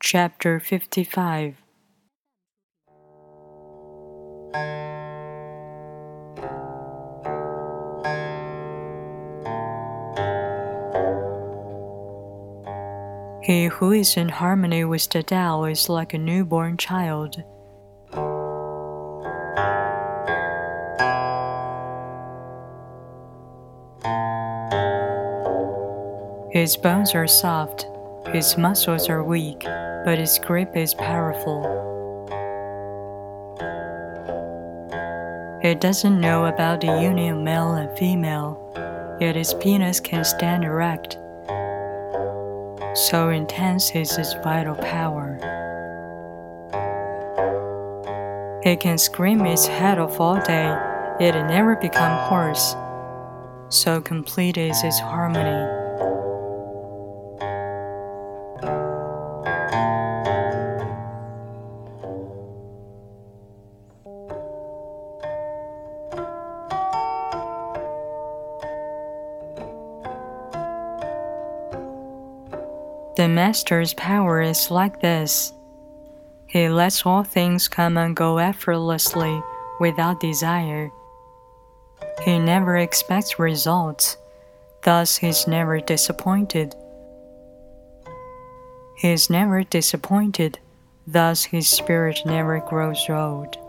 Chapter 55. He who is in harmony with the Tao is like a newborn child. His bones are soft, his muscles are weak, but his grip is powerful. He doesn't know about the union of male and female, yet his penis can stand erect. So intense is his vital power. He can scream his head off all day, yet it never become hoarse. So complete is his harmony. The Master's power is like this. He lets all things come and go effortlessly without desire. He never expects results, thus he is never disappointed. He is never disappointed, thus his spirit never grows old.